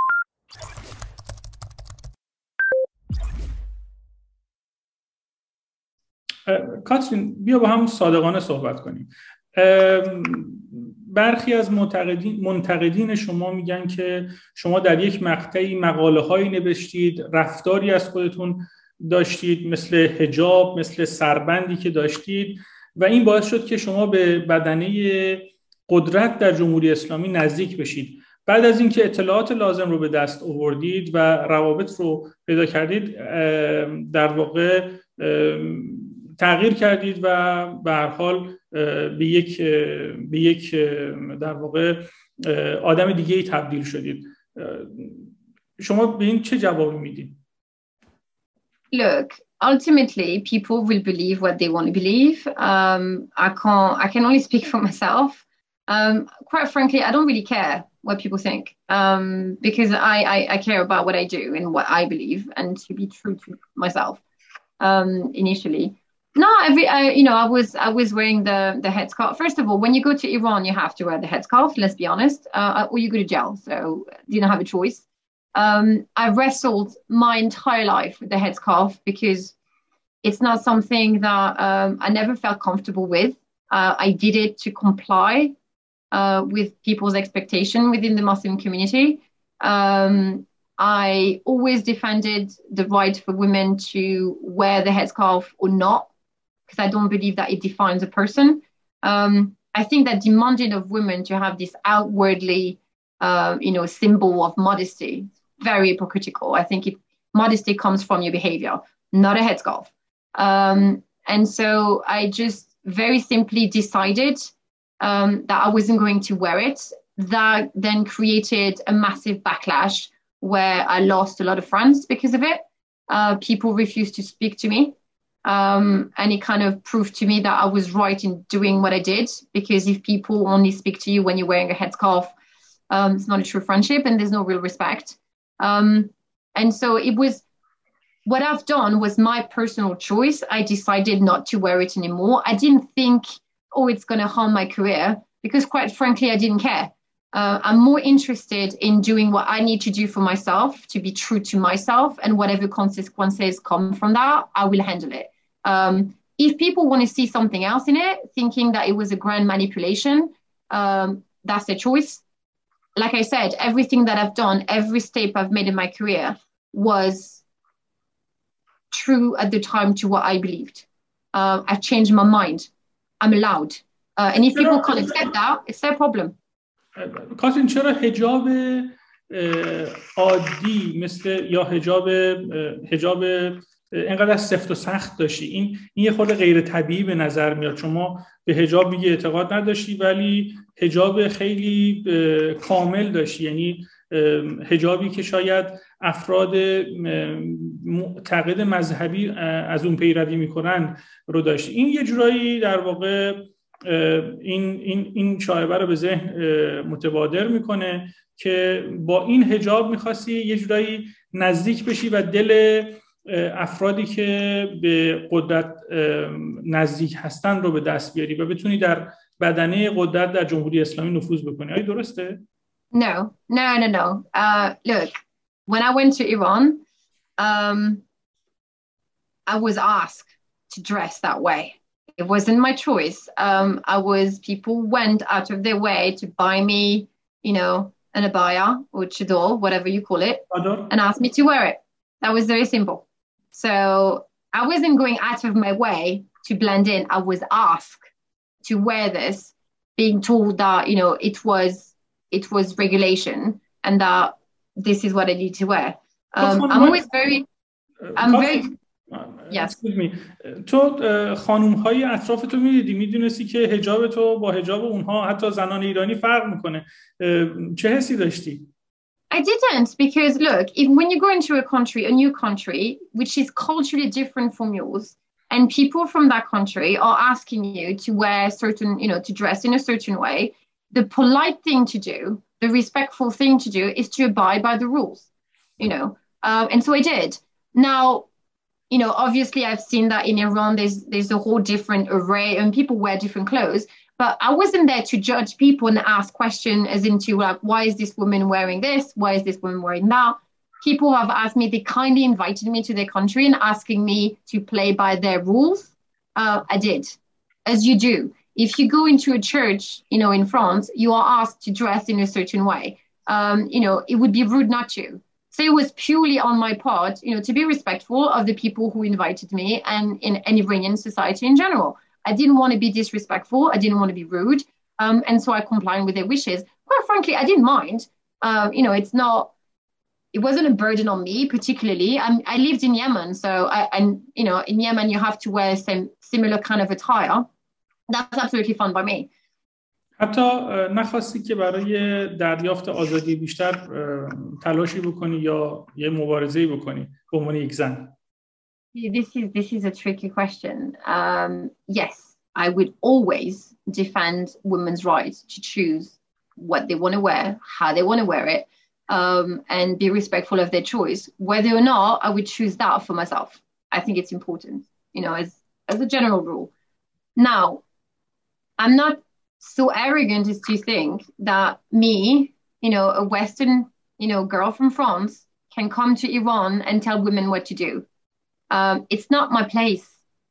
کاترین، بیا با هم صادقانه صحبت کنیم. برخی از منتقدین منتقدین شما میگن که شما در یک مقطعی مقاله هایی نوشتید، رفتاری از خودتون داشتید مثل حجاب، مثل سربندی که داشتید و این باعث شد که شما به بدنه قدرت در جمهوری اسلامی نزدیک بشید. بعد از اینکه اطلاعات لازم رو به دست آوردید و روابط رو پیدا کردید، در واقع تغییر کردید و به هر حال به یک به یک در واقع آدم دیگه‌ای تبدیل شدید. شما به این چه جوابی میدید؟ Look, ultimately people will believe what they want to believe. Um, I can't I can only speak for myself. Um, quite frankly, I don't really care what people think, um, because I, I I care about what I do and what I believe, and to be true to myself. Um, initially. No, every I, you know, I was I was wearing the the headscarf. First of all, when you go to Iran, you have to wear the headscarf. Let's be honest, uh, or you go to jail. So didn't have a choice. Um, I wrestled my entire life with the headscarf because it's not something that um, I never felt comfortable with. Uh, I did it to comply uh, with people's expectation within the Muslim community. Um, I always defended the right for women to wear the headscarf or not, because I don't believe that it defines a person. Um, I think that demanding of women to have this outwardly, uh, you know, symbol of modesty, very hypocritical. I think it, modesty comes from your behavior, not a headscarf. Um, and so I just very simply decided um, that I wasn't going to wear it. That then created a massive backlash where I lost a lot of friends because of it. Uh, people refused to speak to me. Um, and it kind of proved to me that I was right in doing what I did, because if people only speak to you when you're wearing a headscarf, um, it's not a true friendship and there's no real respect. Um, and so it was, what I've done was my personal choice. I decided not to wear it anymore. I didn't think, oh, it's going to harm my career, because quite frankly, I didn't care. Uh, I'm more interested in doing what I need to do for myself, to be true to myself, and whatever consequences come from that, I will handle it. Um, if people want to see something else in it, thinking that it was a grand manipulation, Um, that's their choice. Like I said, everything that I've done, every step I've made in my career was true at the time to what I believed. Uh, I've changed my mind. I'm allowed. Uh, and if people can't accept that, it's their problem. کاترین چرا حجاب عادی مثل یا حجاب حجاب اینقدر سفت و سخت داشتی؟ این این یه خورده غیر طبیعی به نظر میاد. شما به حجاب میگه اعتقاد نداشتی ولی حجاب خیلی کامل داشتی، یعنی حجابی که شاید افراد معتقد مذهبی از اون پیروی میکنن رو داشتی. این یه جورایی در واقع این این این شایعه رو به ذهن متبادر میکنه که با این حجاب میخواستی یه جورایی نزدیک بشی و دل افرادی که به قدرت نزدیک هستن رو به دست بیاری و بتونی در بدنه قدرت در جمهوری اسلامی نفوذ بکنی. آیا درسته؟ No, no, no, no. Uh, look, when I went to Iran, um, I was asked to dress that way. It wasn't my choice. Um, I was, people went out of their way to buy me, you know, an abaya or chador, whatever you call it, and ask me to wear it. That was very simple. So I wasn't going out of my way to blend in. I was asked to wear this, being told that, you know, it was it was regulation and that this is what I need to wear. Um, I'm always very, I'm very, yes. تو خانوم‌های اطراف تو می‌دیدی، می‌دونستی که حجاب تو با حجاب اونها حتی زنان ایرانی فرق می‌کنه. چه حسی داشتی؟ I didn't, because look, if when you go into a country, a new country, which is culturally different from yours, and people from that country are asking you to wear certain, you know, to dress in a certain way, the polite thing to do, the respectful thing to do is to abide by the rules, you know. Um, and so I did. Now, you know, obviously I've seen that in Iran, there's there's a whole different array and people wear different clothes. But I wasn't there to judge people and ask questions as into like, why is this woman wearing this? Why is this woman wearing that? People have asked me, they kindly invited me to their country and asking me to play by their rules. Uh, I did, as you do. If you go into a church, you know, in France, you are asked to dress in a certain way. Um, you know, it would be rude not to. So it was purely on my part, you know, to be respectful of the people who invited me and in any Iranian society in general. I didn't want to be disrespectful. I didn't want to be rude. Um, and so I complied with their wishes. Quite frankly, I didn't mind. Um, you know, it's not, it wasn't a burden on me particularly. I'm, I lived in Yemen. So, I, and, you know, in Yemen, you have to wear some similar kind of attire. That's absolutely fine by me. حتی نخواستی که برای دریافت آزادی بیشتر تلاشی بکنی یا یه مبارزه‌ای بکنی به عنوان یک زن؟ This is this is a tricky question. Um, yes, I would always defend women's rights to choose what they want to wear, how they want to wear it, um, and be respectful of their choice. Whether or not I would choose that for myself, I think it's important, you know, as as a general rule. Now, I'm not so arrogant as to think that me, you know, a Western, you know, girl from France can come to Iran and tell women what to do. Um, it's not my place.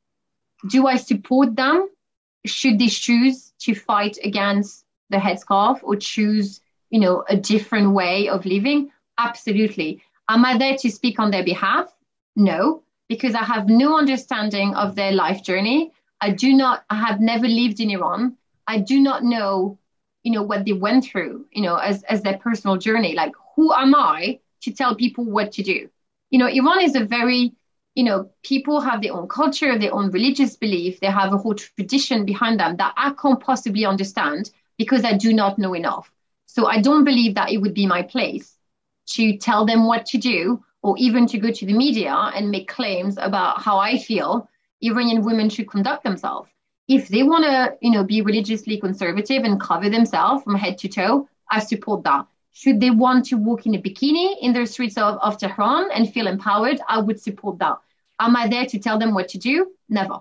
Do I support them? Should they choose to fight against the headscarf or choose, you know, a different way of living? Absolutely. Am I there to speak on their behalf? No, because I have no understanding of their life journey. I do not, I have never lived in Iran. I do not know, you know, what they went through, you know, as, as their personal journey. Like, who am I to tell people what to do? You know, Iran is a very, you know, people have their own culture, their own religious belief. They have a whole tradition behind them that I can't possibly understand because I do not know enough. So I don't believe that it would be my place to tell them what to do or even to go to the media and make claims about how I feel Iranian women should conduct themselves. If they want to, you know, be religiously conservative and cover themselves from head to toe, I support that. Should they want to walk in a bikini in the streets of, of Tehran and feel empowered, I would support that. Am I there to tell them what to do? Never.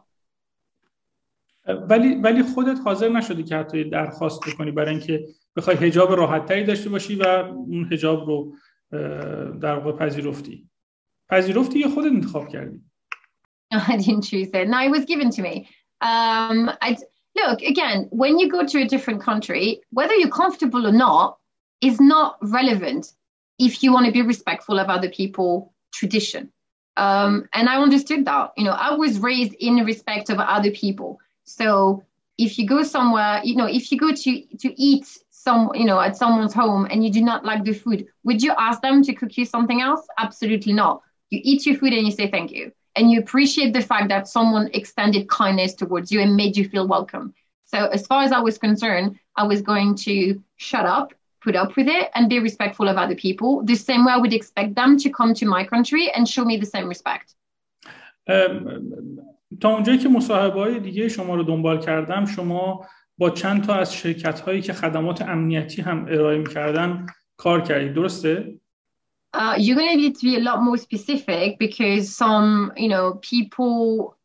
ولی ولی خودت حاضر نشدی که حتی درخواست بکنی برای اینکه بخوای حجاب راحت‌تری داشته باشی و اون حجاب رو در واقع پذیرفتی. پذیرفتی یا خودت انتخاب کردی؟ I didn't choose it. No, it was given to me. Um, I, Look, again, when you go to a different country, whether you're comfortable or not is not relevant if you want to be respectful of other people's tradition. Um, and I understood that. You know, I was raised in respect of other people. So if you go somewhere, you know, if you go to to eat some, you know, at someone's home and you do not like the food, would you ask them to cook you something else? Absolutely not. You eat your food and you say thank you. And you appreciate the fact that someone extended kindness towards you and made you feel welcome. So as far as I was concerned, I was going to shut up, put up with it, and be respectful of other people, the same way I would expect them to come to my country and show me the same respect. تا اونجایی که مصاحبه‌های دیگه شما رو دنبال کردم، شما با چند تا از شرکت‌هایی که خدمات امنیتی هم ارائه می‌کردن کار کردید، درسته؟ Uh, you're going to need to be a lot more specific because some, you know, people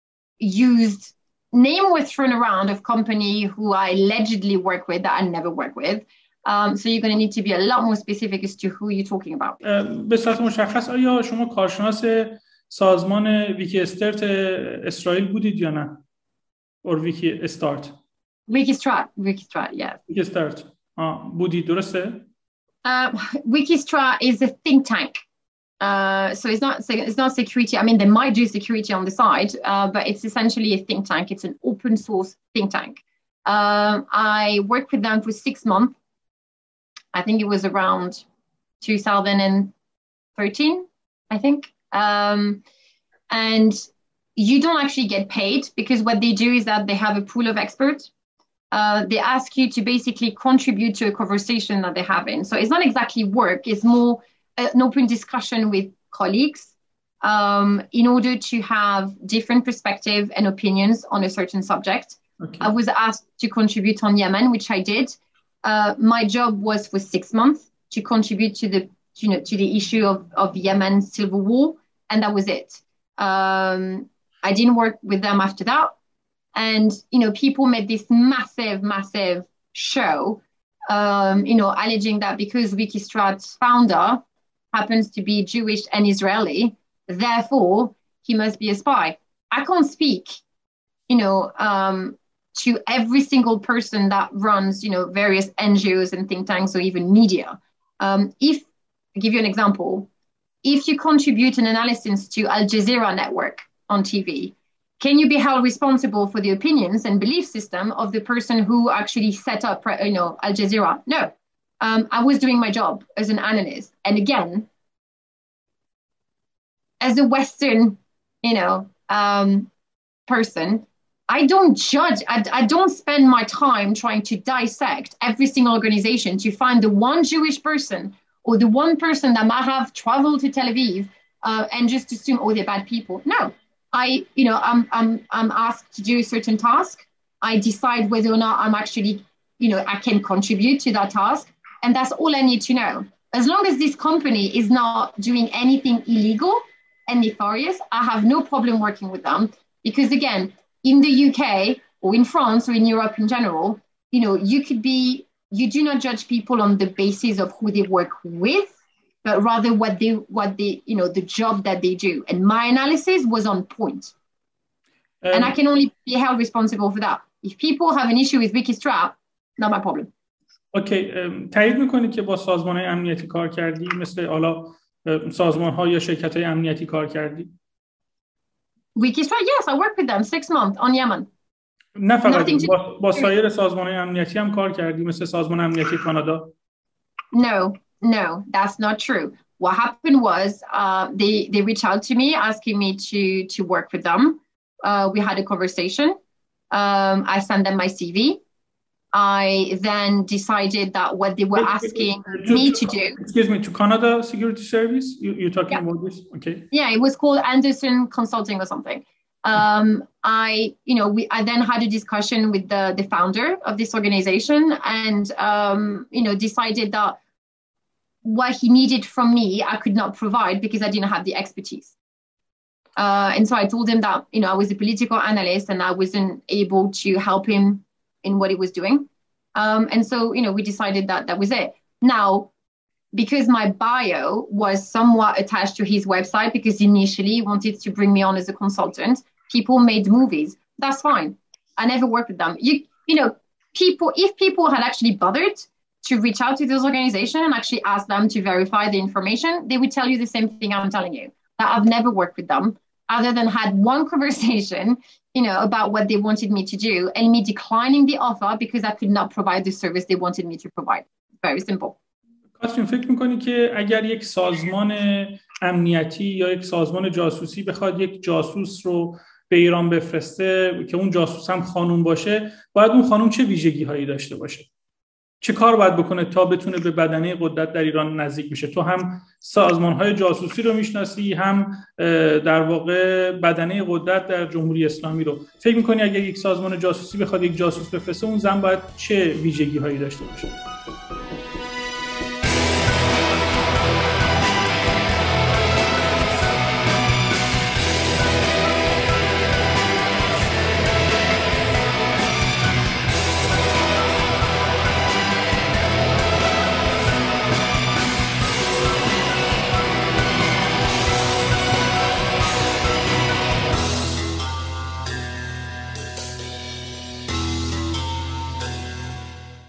used name was thrown around of company who I allegedly work with that I never work with. Um, so you're going to need to be a lot more specific as to who you're talking about. به صورت مشخص آیا شما کارشناس سازمان ویکی استارت اسرائیل بودید یا نه؟ or ویکی استارت؟ ویکی استارت، ویکی استارت, yes. ویکی استارت. آه بودید، درسته؟ Uh, Wikistra is a think tank. Uh, so it's not it's not security. I mean, they might do security on the side, uh, but it's essentially a think tank. It's an open source think tank. Um, I worked with them for six months. I think it was around two thousand thirteen, I think. Um, and you don't actually get paid because what they do is that they have a pool of experts. Uh, they ask you to basically contribute to a conversation that they're having. So it's not exactly work. It's more an open discussion with colleagues um, in order to have different perspectives and opinions on a certain subject. Okay. I was asked to contribute on Yemen, which I did. Uh, my job was for six months to contribute to the, you know, to the issue of, of Yemen civil war. And that was it. Um, I didn't work with them after that. And, you know, people made this massive, massive show, um, you know, alleging that because Wikistrat's founder happens to be Jewish and Israeli, therefore he must be a spy. I can't speak, you know, um, to every single person that runs, you know, various N G Os and think tanks or even media. Um, if, I'll give you an example, if you contribute an analysis to Al Jazeera network on T V, can you be held responsible for the opinions and belief system of the person who actually set up, you know, Al Jazeera? No. Um, I was doing my job as an analyst. And again, as a Western, you know, um, person, I don't judge. I, I don't spend my time trying to dissect every single organization to find the one Jewish person or the one person that might have traveled to Tel Aviv uh, and just assume, oh, they're bad people. No. I, you know, I'm, I'm, I'm asked to do a certain task. I decide whether or not I'm actually, you know, I can contribute to that task. And that's all I need to know. As long as this company is not doing anything illegal and nefarious, I have no problem working with them. Because again, in the U K or in France or in Europe in general, you know, you could be, you do not judge people on the basis of who they work with, but rather what they, what they, you know, the job that they do. And my analysis was on point. Um, and I can only be held responsible for that. If people have an issue with Wikistrat, not my problem. اوکی تایید میکنید که با سازمان‌های امنیتی کار کردی، مثل حالا سازمان‌ها یا شرکت‌های امنیتی کار کردی؟ Wikistrat, yes, I worked with them six months on Yemen. نه فقط با, با سایر سازمان‌های امنیتی هم کار کردی، مثل سازمان امنیتی کانادا؟ No. No, that's not true. What happened was uh, they, they reached out to me asking me to, to work with them. Uh, we had a conversation. Um, I sent them my C V. I then decided that what they were asking to, me to, to do. Excuse me, to Canada Security Service? You, you're talking yeah. about this? Okay. Yeah, it was called Anderson Consulting or something. Um, I, you know, we, I then had a discussion with the, the founder of this organization and, um, you know, decided that what he needed from me, I could not provide because I didn't have the expertise. Uh, and so I told him that, you know, I was a political analyst and I wasn't able to help him in what he was doing. Um, and so, you know, we decided that that was it. Now, because my bio was somewhat attached to his website, because initially he wanted to bring me on as a consultant, people made movies. That's fine. I never worked with them. You, you know, people, if people had actually bothered to reach out to those organizations and actually ask them to verify the information, they would tell you the same thing I'm telling you, that I've never worked with them, other than had one conversation, you know, about what they wanted me to do, and me declining the offer because I could not provide the service they wanted me to provide. Very simple. کاترین، فکر میکنی که اگر یک سازمان امنیتی یا یک سازمان جاسوسی بخواد یک جاسوس رو به ایران بفرسته که اون جاسوس هم خانوم باشه، باید اون خانوم چه ویژگی هایی داشته باشه؟ چه کار باید بکنه تا بتونه به بدنه قدرت در ایران نزدیک بشه؟ تو هم سازمان های جاسوسی رو میشناسی، هم در واقع بدنه قدرت در جمهوری اسلامی رو. فکر میکنی اگر یک سازمان جاسوسی بخواد یک جاسوس بفرسته، اون زن باید چه ویژگی هایی داشته باشه؟